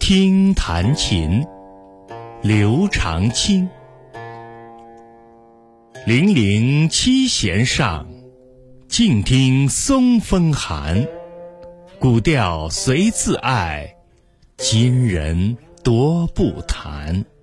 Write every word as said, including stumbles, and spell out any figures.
轻弹琴，刘长卿。零零七弦上，静听松风寒。古调随自爱，今人多不弹。